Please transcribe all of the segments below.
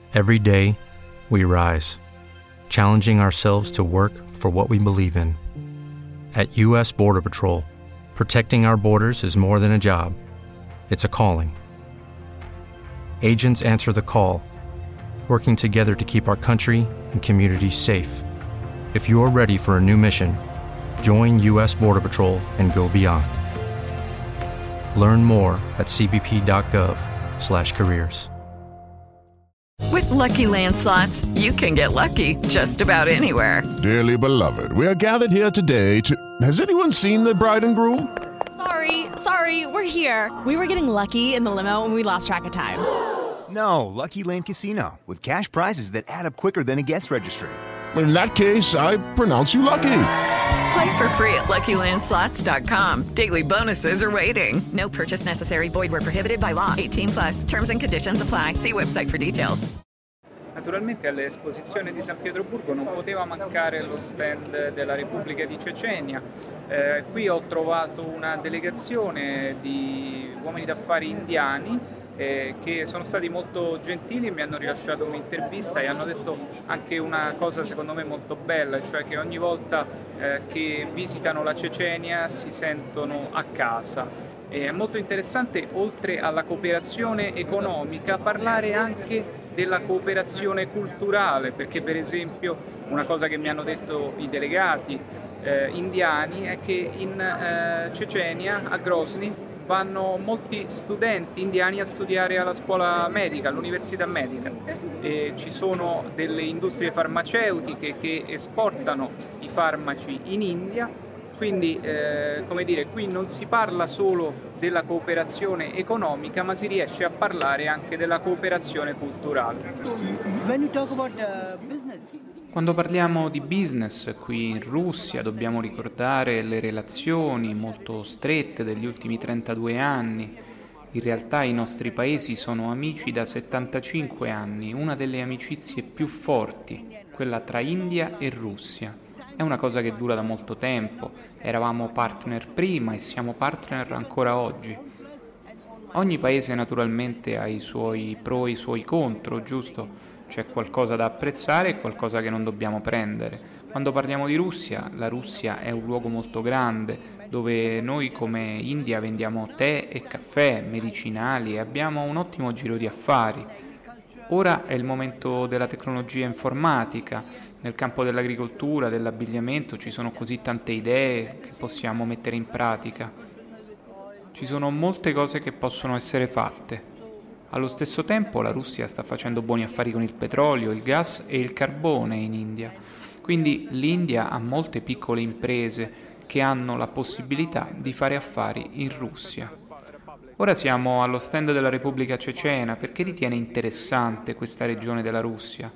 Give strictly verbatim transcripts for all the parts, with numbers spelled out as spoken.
Every day, we rise, challenging ourselves to work for what we believe in. At U S Border Patrol, protecting our borders is more than a job, it's a calling. Agents answer the call, working together to keep our country and communities safe. If you're ready for a new mission, join U S Border Patrol and go beyond. Learn more at c b p dot gov slash careers. With Lucky Land Slots, you can get lucky just about anywhere. Dearly beloved, we are gathered here today to... Has anyone seen the bride and groom? Sorry, sorry, we're here. We were getting lucky in the limo and we lost track of time. No, Lucky Land Casino, with cash prizes that add up quicker than a guest registry. In that case, I pronounce you lucky. Play for free at lucky land slots dot com. Daily bonuses are waiting. No purchase necessary. Void where prohibited by law. eighteen plus. Terms and conditions apply. See website for details. Naturalmente all'esposizione di San Pietroburgo non poteva mancare lo stand della Repubblica di Cecenia. Eh, qui ho trovato una delegazione di uomini d'affari indiani eh, che sono stati molto gentili e mi hanno rilasciato un'intervista e hanno detto anche una cosa secondo me molto bella, cioè che ogni volta eh, che visitano la Cecenia si sentono a casa. E è molto interessante, oltre alla cooperazione economica, parlare anche della cooperazione culturale, perché per esempio una cosa che mi hanno detto i delegati eh, indiani è che in eh, Cecenia, a Grozny, vanno molti studenti indiani a studiare alla scuola medica, all'università medica, e ci sono delle industrie farmaceutiche che esportano i farmaci in India, quindi eh, come dire, qui non si parla solo della cooperazione economica, ma si riesce a parlare anche della cooperazione culturale. Quando parliamo di business qui in Russia dobbiamo ricordare le relazioni molto strette degli ultimi trentadue anni. In realtà i nostri paesi sono amici da settantacinque anni, una delle amicizie più forti, quella tra India e Russia. È una cosa che dura da molto tempo, eravamo partner prima e siamo partner ancora oggi. Ogni paese naturalmente ha i suoi pro e i suoi contro, giusto? C'è qualcosa da apprezzare e qualcosa che non dobbiamo prendere. Quando parliamo di Russia, la Russia è un luogo molto grande, dove noi come India vendiamo tè e caffè, medicinali e abbiamo un ottimo giro di affari. Ora è il momento della tecnologia informatica, nel campo dell'agricoltura, dell'abbigliamento ci sono così tante idee che possiamo mettere in pratica. Ci sono molte cose che possono essere fatte. Allo stesso tempo la Russia sta facendo buoni affari con il petrolio, il gas e il carbone in India. Quindi l'India ha molte piccole imprese che hanno la possibilità di fare affari in Russia. Ora siamo allo stand della Repubblica Cecena. Perché ritiene interessante questa regione della Russia?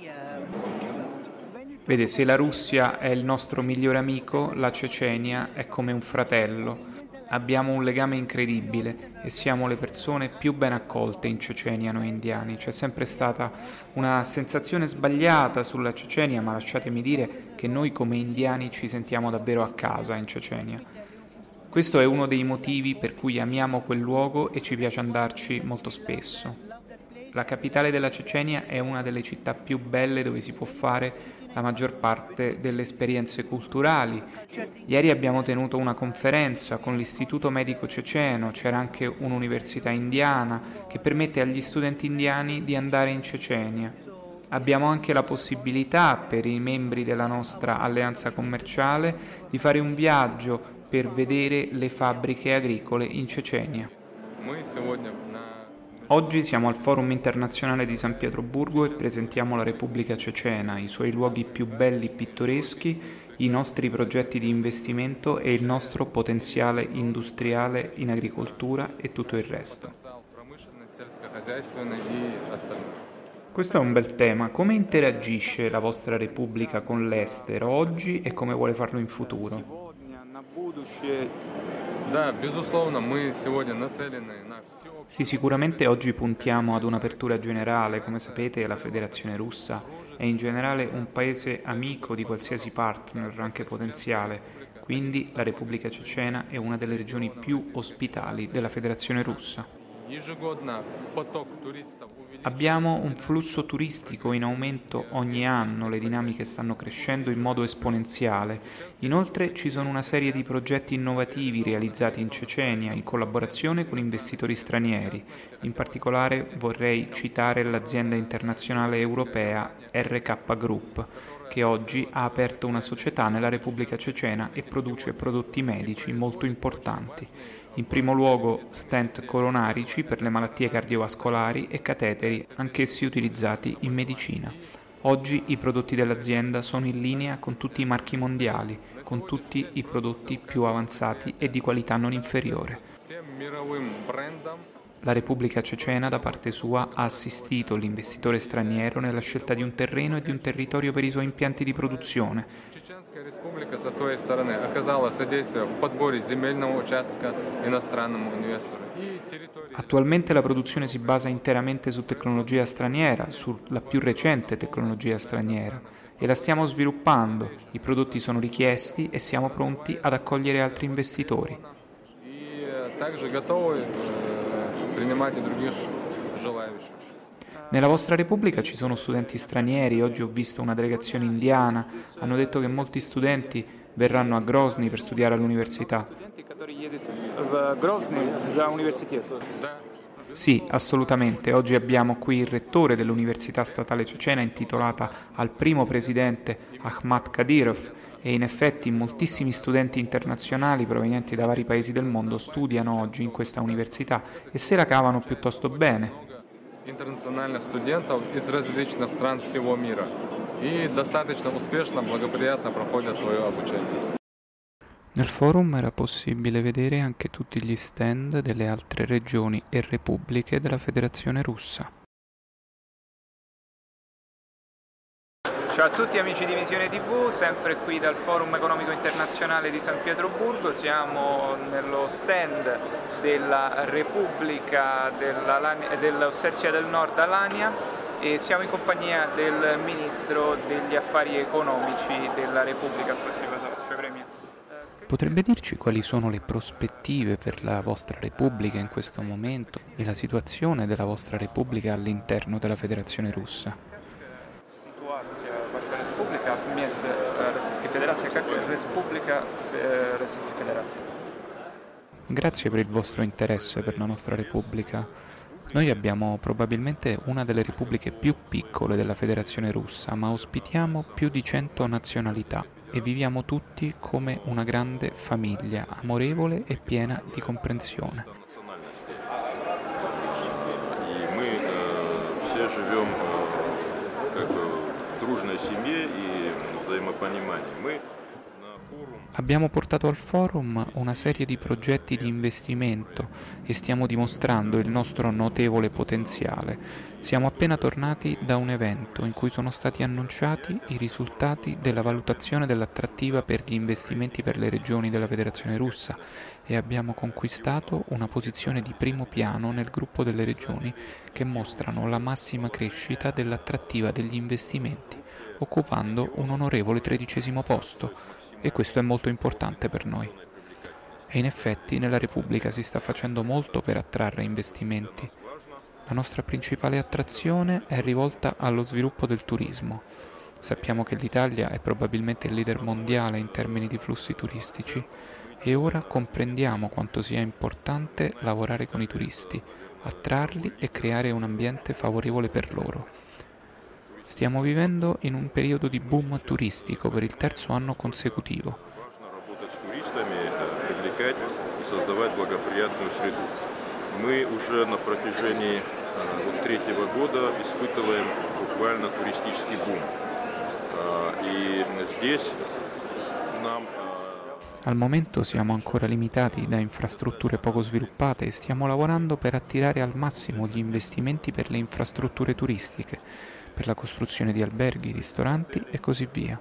Vede, se la Russia è il nostro migliore amico, la Cecenia è come un fratello. Abbiamo un legame incredibile e siamo le persone più ben accolte in Cecenia noi indiani. C'è sempre stata una sensazione sbagliata sulla Cecenia, ma lasciatemi dire che noi come indiani ci sentiamo davvero a casa in Cecenia. Questo è uno dei motivi per cui amiamo quel luogo e ci piace andarci molto spesso. La capitale della Cecenia è una delle città più belle dove si può fare la maggior parte delle esperienze culturali. Ieri abbiamo tenuto una conferenza con l'Istituto Medico Ceceno, c'era anche un'università indiana che permette agli studenti indiani di andare in Cecenia. Abbiamo anche la possibilità per i membri della nostra alleanza commerciale di fare un viaggio per vedere le fabbriche agricole in Cecenia. Oggi siamo al Forum Internazionale di San Pietroburgo e presentiamo la Repubblica Cecena, i suoi luoghi più belli e pittoreschi, i nostri progetti di investimento e il nostro potenziale industriale in agricoltura e tutto il resto. Questo è un bel tema. Come interagisce la vostra Repubblica con l'estero oggi e come vuole farlo in futuro? Sì, sicuramente oggi puntiamo ad un'apertura generale. Come sapete, la Federazione Russa è in generale un paese amico di qualsiasi partner, anche potenziale, quindi la Repubblica Cecena è una delle regioni più ospitali della Federazione Russa. Abbiamo un flusso turistico in aumento ogni anno, le dinamiche stanno crescendo in modo esponenziale. Inoltre ci sono una serie di progetti innovativi realizzati in Cecenia in collaborazione con investitori stranieri. In particolare vorrei citare l'azienda internazionale europea R K Group, che oggi ha aperto una società nella Repubblica Cecena e produce prodotti medici molto importanti. In primo luogo stent coronarici per le malattie cardiovascolari e cateteri, anch'essi utilizzati in medicina. Oggi i prodotti dell'azienda sono in linea con tutti i marchi mondiali, con tutti i prodotti più avanzati e di qualità non inferiore. La Repubblica Cecena, da parte sua, ha assistito l'investitore straniero nella scelta di un terreno e di un territorio per i suoi impianti di produzione. Республика со своей стороны оказала содействие в подборе земельного участка иностранному инвестору. Attualmente la produzione si basa interamente su tecnologia straniera, sulla più recente tecnologia straniera, e la stiamo sviluppando. I prodotti sono richiesti e siamo pronti ad accogliere altri investitori. И также готовы принимать и других желающих. Nella vostra Repubblica ci sono studenti stranieri, oggi ho visto una delegazione indiana, hanno detto che molti studenti verranno a Grozny per studiare all'università. Sì, assolutamente. Oggi abbiamo qui il rettore dell'Università Statale Cecena intitolata al primo presidente Ahmad Kadyrov e in effetti moltissimi studenti internazionali provenienti da vari paesi del mondo studiano oggi in questa università e se la cavano piuttosto bene. Интернациональных студентов из различных стран всего мира и достаточно успешно, благоприятно проходят свое обучение. Nel forum era possibile vedere anche tutti gli stand delle altre regioni e repubbliche della Federazione Russa. Ciao a tutti amici di Visione tivù, sempre qui dal Forum Economico Internazionale di San Pietroburgo. Siamo nello stand della Repubblica dell'Ossetia del Nord Alania e siamo in compagnia del Ministro degli Affari Economici della Repubblica. Potrebbe dirci quali sono le prospettive per la vostra Repubblica in questo momento e la situazione della vostra Repubblica all'interno della Federazione Russa? Ваша республика вместо Российской Федерации как Республика Российской Федерации. Grazie per il vostro interesse per la nostra Repubblica. Noi abbiamo probabilmente una delle repubbliche più piccole della Federazione Russa, ma ospitiamo più di cento nazionalità e viviamo tutti come una grande famiglia, amorevole e piena di comprensione. E noi все живем как дружной семье и взаимопонимании. Мы Abbiamo portato al forum una serie di progetti di investimento e stiamo dimostrando il nostro notevole potenziale. Siamo appena tornati da un evento in cui sono stati annunciati i risultati della valutazione dell'attrattiva per gli investimenti per le regioni della Federazione Russa e abbiamo conquistato una posizione di primo piano nel gruppo delle regioni che mostrano la massima crescita dell'attrattiva degli investimenti, occupando un onorevole tredicesimo posto. E questo è molto importante per noi. E in effetti nella Repubblica si sta facendo molto per attrarre investimenti. La nostra principale attrazione è rivolta allo sviluppo del turismo. Sappiamo che l'Italia è probabilmente il leader mondiale in termini di flussi turistici e ora comprendiamo quanto sia importante lavorare con i turisti, attrarli e creare un ambiente favorevole per loro. Stiamo vivendo in un periodo di boom turistico per il terzo anno consecutivo. Мы уже на протяжении третьего года испытываем буквально туристический бум. И здесь нам Al momento siamo ancora limitati da infrastrutture poco sviluppate e stiamo lavorando per attirare al massimo gli investimenti per le infrastrutture turistiche, per la costruzione di alberghi, ristoranti e così via.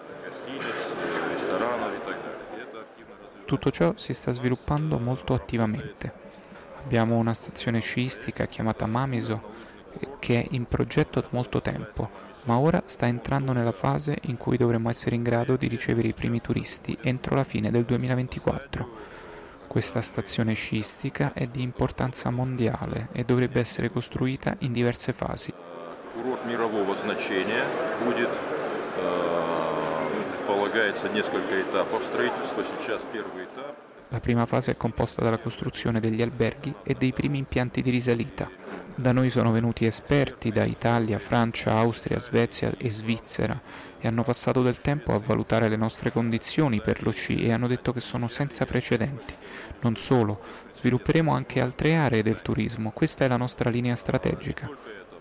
Tutto ciò si sta sviluppando molto attivamente. Abbiamo una stazione sciistica chiamata Mamizo che è in progetto da molto tempo, ma ora sta entrando nella fase in cui dovremo essere in grado di ricevere i primi turisti entro la fine del duemilaventiquattro. Questa stazione sciistica è di importanza mondiale e dovrebbe essere costruita in diverse fasi. Курорт мирового значения будет, предполагается несколько этапов строительства. Сейчас первый этап. La prima fase è composta dalla costruzione degli alberghi e dei primi impianti di risalita. Da noi sono venuti esperti da Italia, Francia, Austria, Svezia e Svizzera e hanno passato del tempo a valutare le nostre condizioni per lo sci e hanno detto che sono senza precedenti. Non solo, svilupperemo anche altre aree del turismo. Questa è la nostra linea strategica.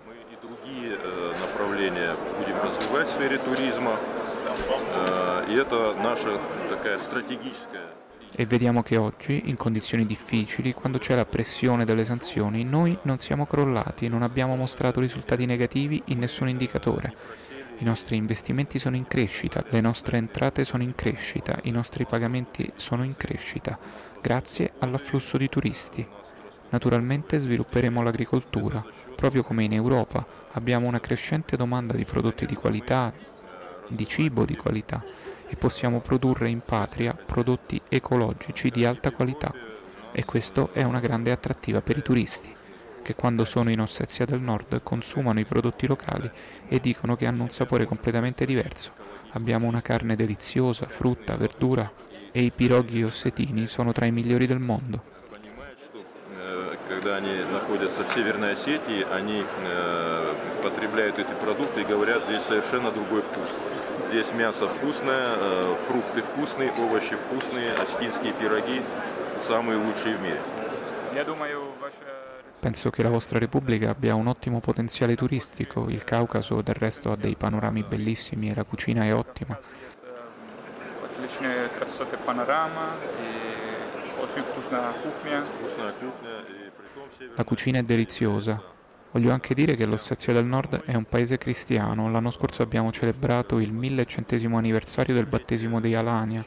Будем развивать в сфере туризма, и это наша такая стратегическая. E vediamo che oggi, in condizioni difficili, quando c'è la pressione delle sanzioni, noi non siamo crollati, non abbiamo mostrato risultati negativi in nessun indicatore. I nostri investimenti sono in crescita, le nostre entrate sono in crescita, i nostri pagamenti sono in crescita, grazie all'afflusso di turisti. Naturalmente svilupperemo l'agricoltura, proprio come in Europa abbiamo una crescente domanda di prodotti di qualità, di cibo di qualità e possiamo produrre in patria prodotti ecologici di alta qualità e questo è una grande attrattiva per i turisti che quando sono in Ossetia del Nord consumano i prodotti locali e dicono che hanno un sapore completamente diverso. Abbiamo una carne deliziosa, frutta, verdura e i piroghi ossetini sono tra i migliori del mondo. Когда они находятся в Северной Осетии, они э, потребляют эти продукты и говорят, здесь совершенно другой вкус. Здесь мясо вкусное, э, фрукты вкусные, овощи вкусные, осетинские пироги самые лучшие в мире. Penso che la vostra Repubblica abbia un ottimo potenziale turistico, il Caucaso del resto ha dei panorami bellissimi e la cucina è ottima. Отличные красоты панорама и очень вкусная кухня. La cucina è deliziosa. Voglio anche dire che l'Ossetia del Nord è un paese cristiano. L'anno scorso abbiamo celebrato il millecentesimo anniversario del battesimo di Alania.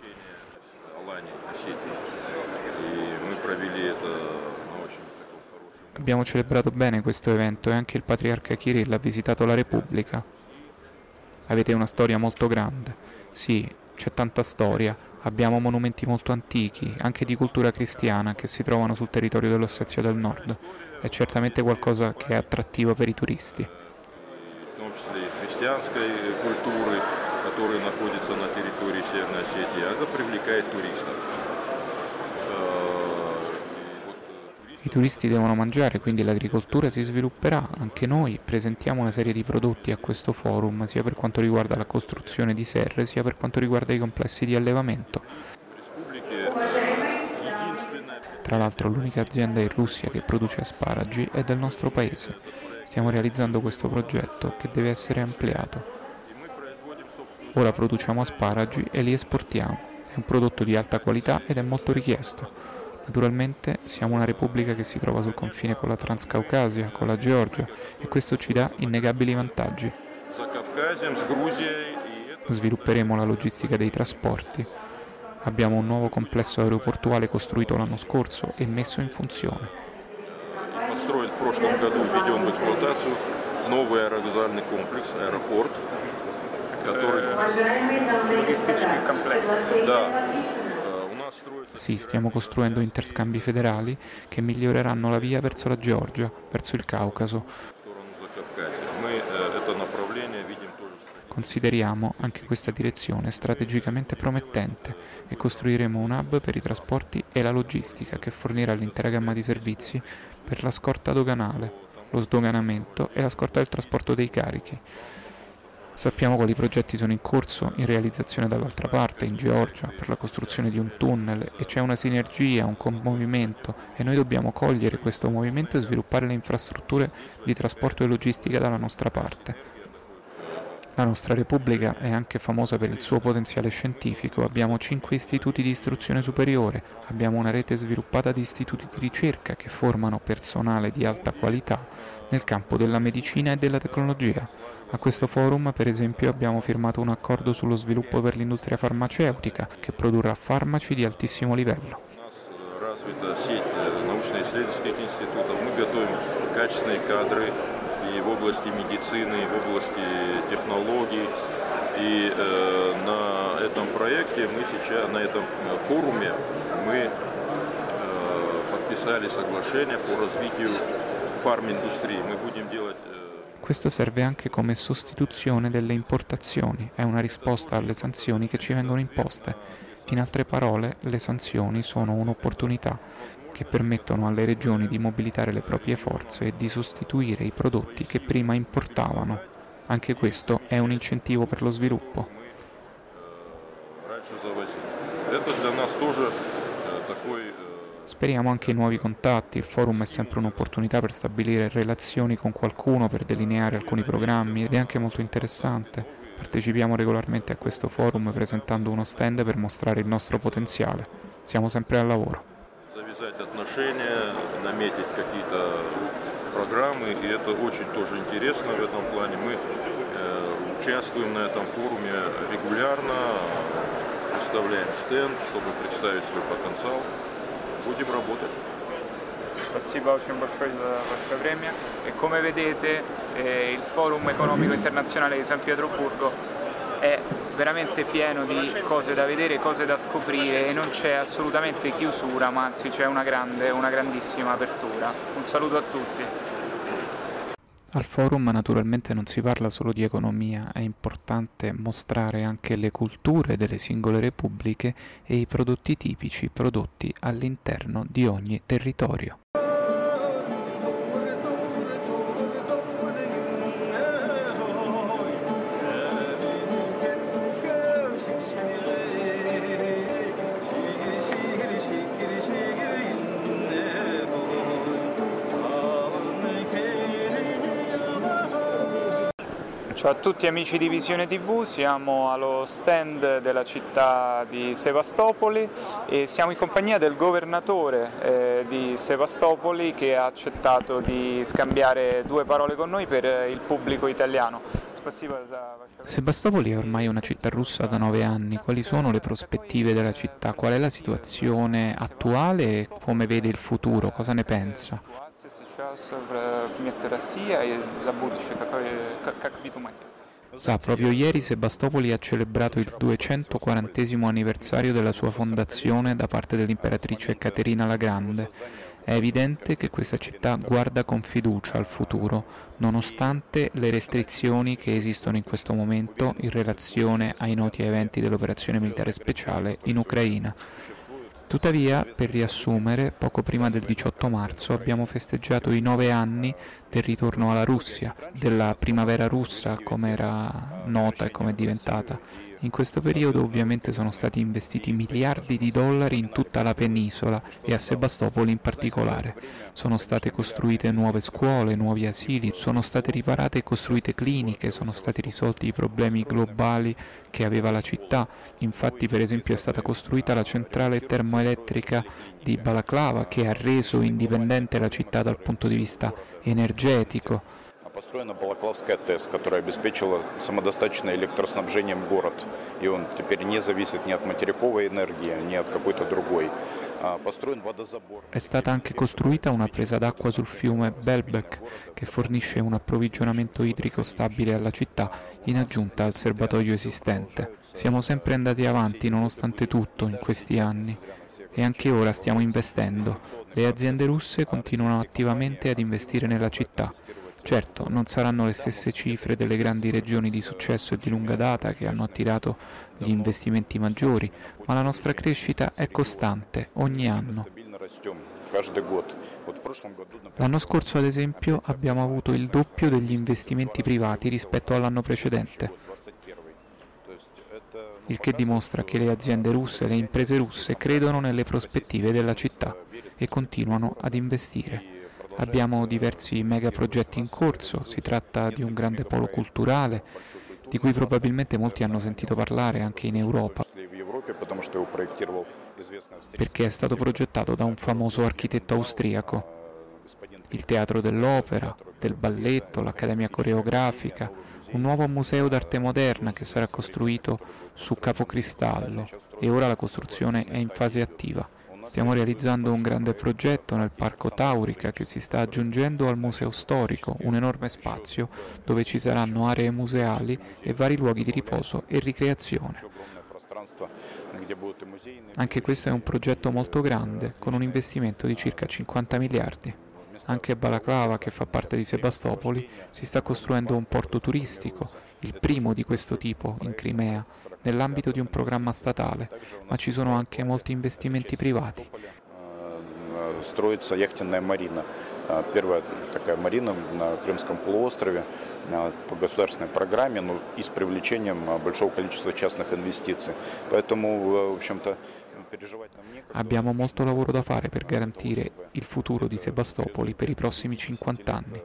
Abbiamo celebrato bene questo evento e anche il patriarca Kirill ha visitato la Repubblica. Avete una storia molto grande. Sì, c'è tanta storia. Abbiamo monumenti molto antichi, anche di cultura cristiana, che si trovano sul territorio dell'Ossetia del Nord. È certamente qualcosa che è attrattivo per i turisti. В том числе и христианской культуры, которые находятся на территории Северной Осетии, это привлекает туристов. I turisti devono mangiare, quindi l'agricoltura si svilupperà. Anche noi presentiamo una serie di prodotti a questo forum, sia per quanto riguarda la costruzione di serre, sia per quanto riguarda i complessi di allevamento. Tra l'altro l'unica azienda in Russia che produce asparagi è del nostro paese. Stiamo realizzando questo progetto che deve essere ampliato. Ora produciamo asparagi e li esportiamo. È un prodotto di alta qualità ed è molto richiesto. Naturalmente siamo una repubblica che si trova sul confine con la Transcaucasia, con la Georgia e questo ci dà innegabili vantaggi. Svilupperemo la logistica dei trasporti. Abbiamo un nuovo complesso aeroportuale costruito l'anno scorso e messo in funzione. Построен в прошлом году, введен в эксплуатацию новый аэровокзальный комплекс, аэропорт, который... Логистичный комплекс. Да. Sì, stiamo costruendo interscambi federali che miglioreranno la via verso la Georgia, verso il Caucaso. Consideriamo anche questa direzione strategicamente promettente e costruiremo un hub per i trasporti e la logistica che fornirà l'intera gamma di servizi per la scorta doganale, lo sdoganamento e la scorta del trasporto dei carichi. Sappiamo quali progetti sono in corso in realizzazione dall'altra parte, in Georgia, per la costruzione di un tunnel e c'è una sinergia, un commovimento e noi dobbiamo cogliere questo movimento e sviluppare le infrastrutture di trasporto e logistica dalla nostra parte. La nostra Repubblica è anche famosa per il suo potenziale scientifico, abbiamo cinque istituti di istruzione superiore, abbiamo una rete sviluppata di istituti di ricerca che formano personale di alta qualità nel campo della medicina e della tecnologia. A questo forum, per esempio, abbiamo firmato un accordo sullo sviluppo per l'industria farmaceutica che produrrà farmaci di altissimo livello. И в области медицины, и в области технологий. И э, на этом проекте мы сейчас, на этом форуме мы подписали соглашение по развитию фарм-индустрии. Мы будем делать... Questo serve anche come sostituzione delle importazioni, è una risposta alle sanzioni che ci vengono imposte. In altre parole, le sanzioni sono un'opportunità che permettono alle regioni di mobilitare le proprie forze e di sostituire i prodotti che prima importavano. Anche questo è un incentivo per lo sviluppo. Speriamo anche in nuovi contatti, il forum è sempre un'opportunità per stabilire relazioni con qualcuno, per delineare alcuni programmi ed è anche molto interessante. Partecipiamo regolarmente a questo forum presentando uno stand per mostrare il nostro potenziale. Siamo sempre al lavoro. Завязать отношения, наметить какие-то программы, и это очень тоже интересно в этом плане. Мы э, участвуем на этом форуме регулярно, представляем стенд, чтобы представить свой потенциал. Будем работать. Спасибо очень большое за ваше время. E come vedete eh, il Forum Economico Internazionale di San Pietroburgo è veramente pieno di cose da vedere, cose da scoprire e non c'è assolutamente chiusura, ma anzi c'è una grande, una grandissima apertura. Un saluto a tutti. Al forum naturalmente non si parla solo di economia, è importante mostrare anche le culture delle singole repubbliche e i prodotti tipici prodotti all'interno di ogni territorio. Ciao a tutti amici di Visione tivù, siamo allo stand della città di Sevastopoli e siamo in compagnia del governatore eh, di Sevastopoli che ha accettato di scambiare due parole con noi per il pubblico italiano. Sebastopoli è ormai una città russa da nove anni, quali sono le prospettive della città, qual è la situazione attuale e come vede il futuro, cosa ne pensa? Sa, proprio ieri Sebastopoli ha celebrato il duecentoquarantesimo anniversario della sua fondazione da parte dell'imperatrice Caterina la Grande. È evidente che questa città guarda con fiducia al futuro, nonostante le restrizioni che esistono in questo momento in relazione ai noti eventi dell'operazione militare speciale in Ucraina. Tuttavia, per riassumere, poco prima del diciotto marzo abbiamo festeggiato i nove anni del ritorno alla Russia, della primavera russa, come era nota e come è diventata. In questo periodo ovviamente sono stati investiti miliardi di dollari in tutta la penisola e a Sebastopoli in particolare. Sono state costruite nuove scuole, nuovi asili, sono state riparate e costruite cliniche, sono stati risolti i problemi globali che aveva la città. Infatti, per esempio, è stata costruita la centrale termoelettrica di Balaklava che ha reso indipendente la città dal punto di vista energetico. Построена Балаклавская ТЭС, которая обеспечила самодостаточное электроснабжением город, и он теперь не зависит ни от материковой энергии, ни от какой-то другой. È stata anche costruita una presa d'acqua sul fiume Belbek che fornisce un approvvigionamento idrico stabile alla città in aggiunta al serbatoio esistente. Siamo sempre andati avanti nonostante tutto in questi anni e anche ora stiamo investendo. Le aziende russe continuano attivamente ad investire nella città. Certo, non saranno le stesse cifre delle grandi regioni di successo e di lunga data che hanno attirato gli investimenti maggiori, ma la nostra crescita è costante ogni anno. L'anno scorso, ad esempio, abbiamo avuto il doppio degli investimenti privati rispetto all'anno precedente, il che dimostra che le aziende russe e le imprese russe credono nelle prospettive della città e continuano ad investire. Abbiamo diversi megaprogetti in corso, si tratta di un grande polo culturale, di cui probabilmente molti hanno sentito parlare anche in Europa, perché è stato progettato da un famoso architetto austriaco. Il teatro dell'opera, del balletto, l'accademia coreografica, un nuovo museo d'arte moderna che sarà costruito su Capocristallo e ora la costruzione è in fase attiva. Stiamo realizzando un grande progetto nel Parco Taurica che si sta aggiungendo al Museo Storico, un enorme spazio dove ci saranno aree museali e vari luoghi di riposo e ricreazione. Anche questo è un progetto molto grande, con un investimento di circa cinquanta miliardi. Anche a Balaklava, che fa parte di Sebastopoli, si sta costruendo un porto turistico, il primo di questo tipo in Crimea, nell'ambito di un programma statale, ma ci sono anche molti investimenti privati. Строится яхтенная марина. Первая такая марина на Крымском полуострове по государственной программе, но и с привлечением большого количества частных инвестиций. Поэтому, в общем-то, переживать нам некогда. Abbiamo molto lavoro da fare per garantire il futuro di Sebastopoli per i prossimi cinquanta anni.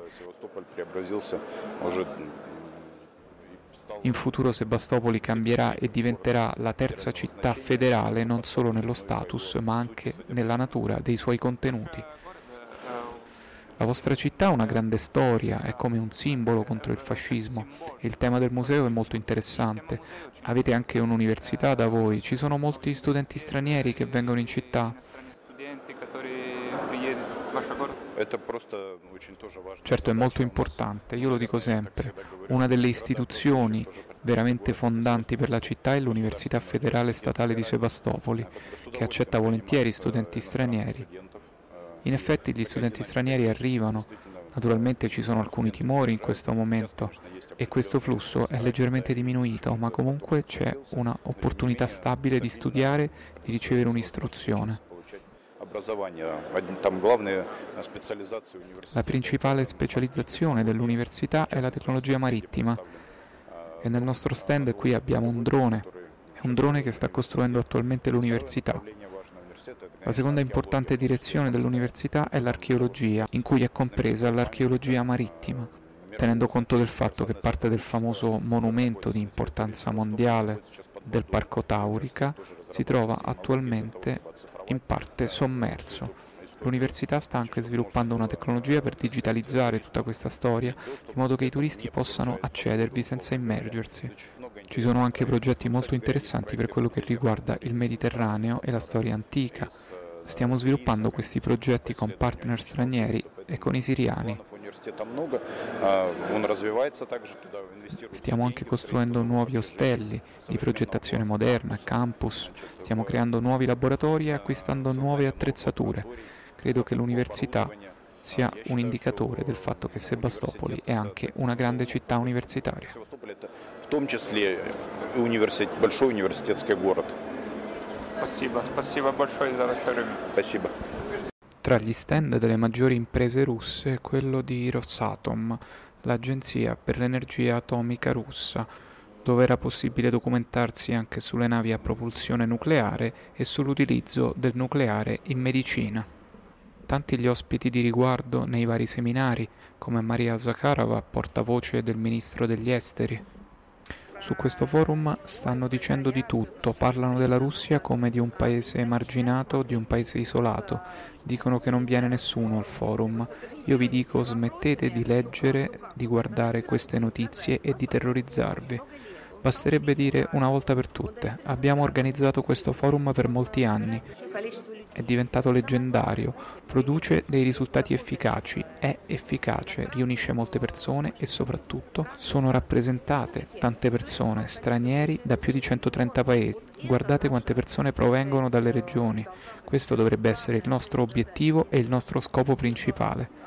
In futuro Sebastopoli cambierà e diventerà la terza città federale non solo nello status, ma anche nella natura dei suoi contenuti. La vostra città ha una grande storia, è come un simbolo contro il fascismo e il tema del museo è molto interessante. Avete anche un'università da voi, ci sono molti studenti stranieri che vengono in città. Certo, è molto importante, io lo dico sempre. Una delle istituzioni veramente fondanti per la città è l'Università Federale Statale di Sebastopoli, che accetta volentieri studenti stranieri. In effetti gli studenti stranieri arrivano, naturalmente ci sono alcuni timori in questo momento e questo flusso è leggermente diminuito, ma comunque c'è un'opportunità stabile di studiare, di ricevere un'istruzione. La principale specializzazione dell'università è la tecnologia marittima e nel nostro stand qui abbiamo un drone, è un drone che sta costruendo attualmente l'università. La seconda importante direzione dell'università è l'archeologia, in cui è compresa l'archeologia marittima, tenendo conto del fatto che parte del famoso monumento di importanza mondiale del Parco Taurica si trova attualmente in parte sommerso. L'università sta anche sviluppando una tecnologia per digitalizzare tutta questa storia, in modo che i turisti possano accedervi senza immergersi. Ci sono anche progetti molto interessanti per quello che riguarda il Mediterraneo e la storia antica. Stiamo sviluppando questi progetti con partner stranieri e con i siriani. Stiamo anche costruendo nuovi ostelli di progettazione moderna, campus, stiamo creando nuovi laboratori e acquistando nuove attrezzature. Credo che l'università sia un indicatore del fatto che Sebastopoli è anche una grande città universitaria. В том числе большой университетский город. Спасибо, спасибо большое за ваше время. Спасибо. Tra gli stand delle maggiori imprese russe quello di Rosatom, l'agenzia per l'energia atomica russa, dove era possibile documentarsi anche sulle navi a propulsione nucleare e sull'utilizzo del nucleare in medicina. Tanti gli ospiti di riguardo nei vari seminari, come Maria Zakharova, portavoce del ministro degli esteri. Su questo forum stanno dicendo di tutto, parlano della Russia come di un paese emarginato, di un paese isolato, dicono che non viene nessuno al forum. Io vi dico smettete di leggere, di guardare queste notizie e di terrorizzarvi. Basterebbe dire una volta per tutte, abbiamo organizzato questo forum per molti anni, è diventato leggendario, produce dei risultati efficaci, è efficace, riunisce molte persone e soprattutto sono rappresentate tante persone, stranieri da più di centotrenta paesi. Guardate quante persone provengono dalle regioni, questo dovrebbe essere il nostro obiettivo e il nostro scopo principale.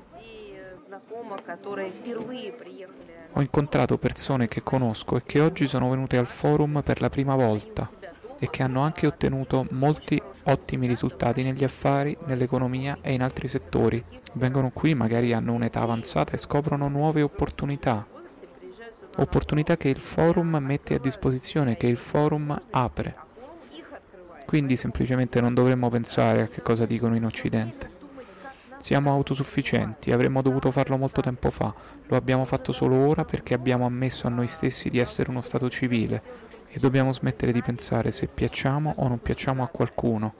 Ho incontrato persone che conosco e che oggi sono venute al forum per la prima volta e che hanno anche ottenuto molti ottimi risultati negli affari, nell'economia e in altri settori. Vengono qui, magari hanno un'età avanzata e scoprono nuove opportunità. Opportunità che il forum mette a disposizione, che il forum apre. Quindi semplicemente non dovremmo pensare a che cosa dicono in Occidente. Siamo autosufficienti, avremmo dovuto farlo molto tempo fa, lo abbiamo fatto solo ora perché abbiamo ammesso a noi stessi di essere uno Stato civile e dobbiamo smettere di pensare se piacciamo o non piacciamo a qualcuno.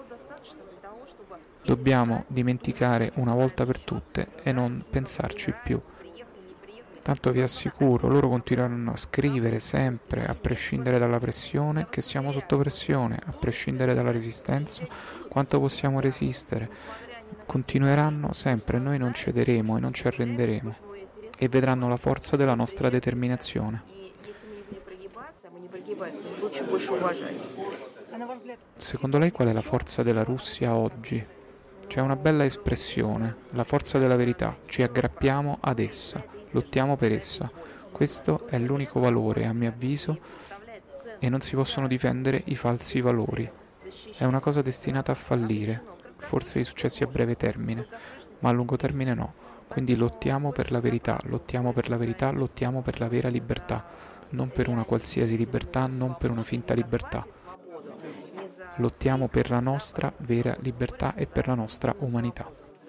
Dobbiamo dimenticare una volta per tutte e non pensarci più. Tanto vi assicuro, loro continueranno a scrivere sempre, a prescindere dalla pressione, che siamo sotto pressione, a prescindere dalla resistenza, quanto possiamo resistere. Continueranno sempre, noi non cederemo e non ci arrenderemo e vedranno la forza della nostra determinazione. Secondo lei qual è la forza della Russia oggi? C'è una bella espressione, la forza della verità. Ci aggrappiamo ad essa, lottiamo per essa. Questo è l'unico valore, a mio avviso, e non si possono difendere i falsi valori. È una cosa destinata a fallire, forse di successi a breve termine, ma a lungo termine no. Quindi lottiamo per la verità, lottiamo per la verità, lottiamo per la vera libertà, non per una qualsiasi libertà, non per una finta libertà. Lottiamo per la nostra vera libertà e per la nostra umanità.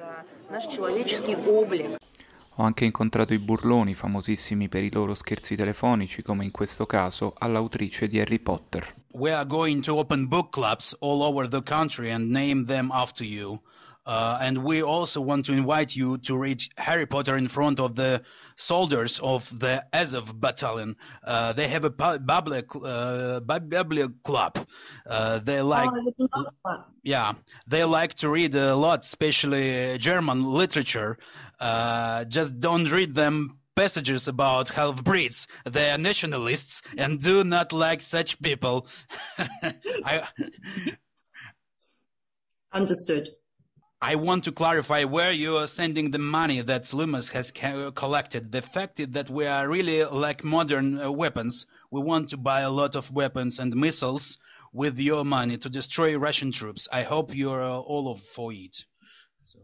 Ho anche incontrato i burloni, famosissimi per i loro scherzi telefonici, come in questo caso all'autrice di Harry Potter. We are going to open book clubs all over the country and name them after you. Uh, and we also want to invite you to read Harry Potter in front of the soldiers of the Azov battalion. Uh, they have a Bablia uh, Bablia club. Uh, they like, oh, yeah, they like to read a lot, especially German literature. Uh, just don't read them passages about half-breeds. They are nationalists and do not like such people. I... Understood. I want to clarify where you are sending the money that Lumos has ca- collected. The fact is that we are really like modern uh, weapons. We want to buy a lot of weapons and missiles with your money to destroy Russian troops. I hope you're uh, all of for it. So.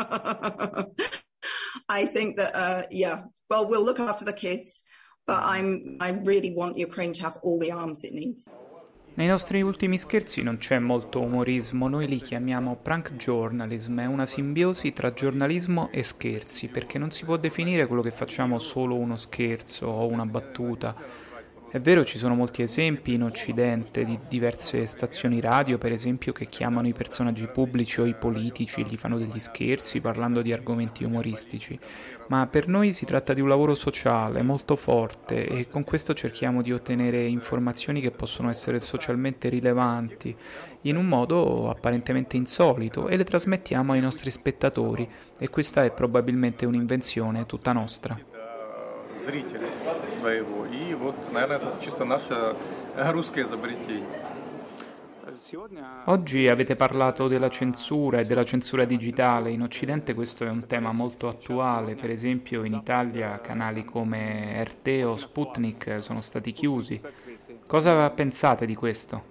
I think that, uh, yeah, well, we'll look after the kids, but I'm, I really want Ukraine to have all the arms it needs. Nei nostri ultimi scherzi non c'è molto umorismo, noi li chiamiamo prank journalism, è una simbiosi tra giornalismo e scherzi, perché non si può definire quello che facciamo solo uno scherzo o una battuta. È vero, ci sono molti esempi in Occidente di diverse stazioni radio, per esempio, che chiamano i personaggi pubblici o i politici e gli fanno degli scherzi parlando di argomenti umoristici, ma per noi si tratta di un lavoro sociale molto forte e con questo cerchiamo di ottenere informazioni che possono essere socialmente rilevanti in un modo apparentemente insolito e le trasmettiamo ai nostri spettatori, e questa è probabilmente un'invenzione tutta nostra. Зрителей своего. И вот, наверное, это чисто наше русское изобретение. Oggi avete parlato della censura e della censura digitale. In Occidente questo è un tema molto attuale. Per esempio in Italia canali come R T o Sputnik sono stati chiusi. Cosa pensate di questo?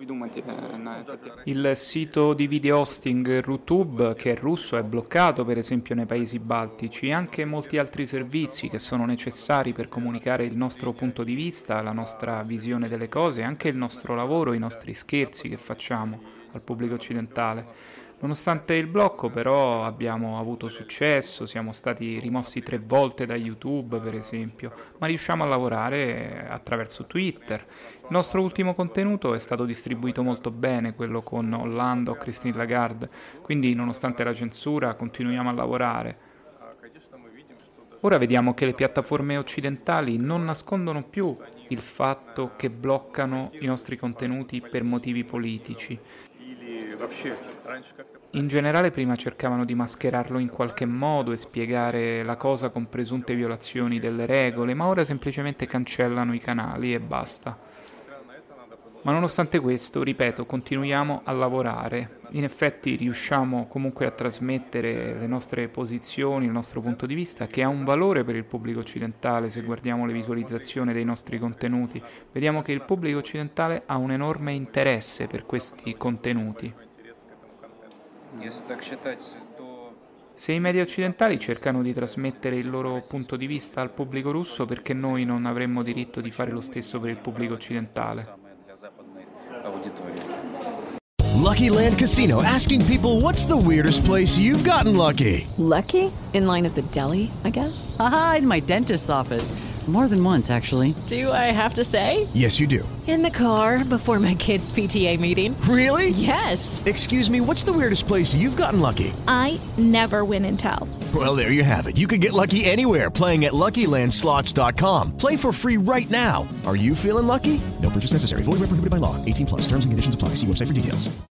Il sito di video hosting RuTube, che è russo, è bloccato per esempio nei paesi baltici, e anche molti altri servizi che sono necessari per comunicare il nostro punto di vista, la nostra visione delle cose, anche il nostro lavoro, i nostri scherzi che facciamo al pubblico occidentale. Nonostante il blocco però abbiamo avuto successo, siamo stati rimossi tre volte da YouTube per esempio, ma riusciamo a lavorare attraverso Twitter. Il nostro ultimo contenuto è stato distribuito molto bene, quello con Hollande o Christine Lagarde, quindi nonostante la censura continuiamo a lavorare. Ora vediamo che le piattaforme occidentali non nascondono più il fatto che bloccano i nostri contenuti per motivi politici. In generale prima cercavano di mascherarlo in qualche modo e spiegare la cosa con presunte violazioni delle regole, ma ora semplicemente cancellano i canali e basta. Ma nonostante questo, ripeto, continuiamo a lavorare. In effetti riusciamo comunque a trasmettere le nostre posizioni, il nostro punto di vista, che ha un valore per il pubblico occidentale. Se guardiamo le visualizzazioni dei nostri contenuti, vediamo che il pubblico occidentale ha un enorme interesse per questi contenuti. Se i media occidentali cercano di trasmettere il loro punto di vista al pubblico russo, perché noi non avremmo diritto di fare lo stesso per il pubblico occidentale? Lucky Land Casino, asking people, what's the weirdest place you've gotten lucky? Lucky? In line at the deli, I guess? Aha, in my dentist's office. More than once, actually. Do I have to say? Yes, you do. In the car before my kids' P T A meeting. Really? Yes. Excuse me, what's the weirdest place you've gotten lucky? I never win and tell. Well, there you have it. You can get lucky anywhere, playing at Lucky Land Slots dot com. Play for free right now. Are you feeling lucky? No purchase necessary. Void where prohibited by law. eighteen plus. Terms and conditions apply. See website for details.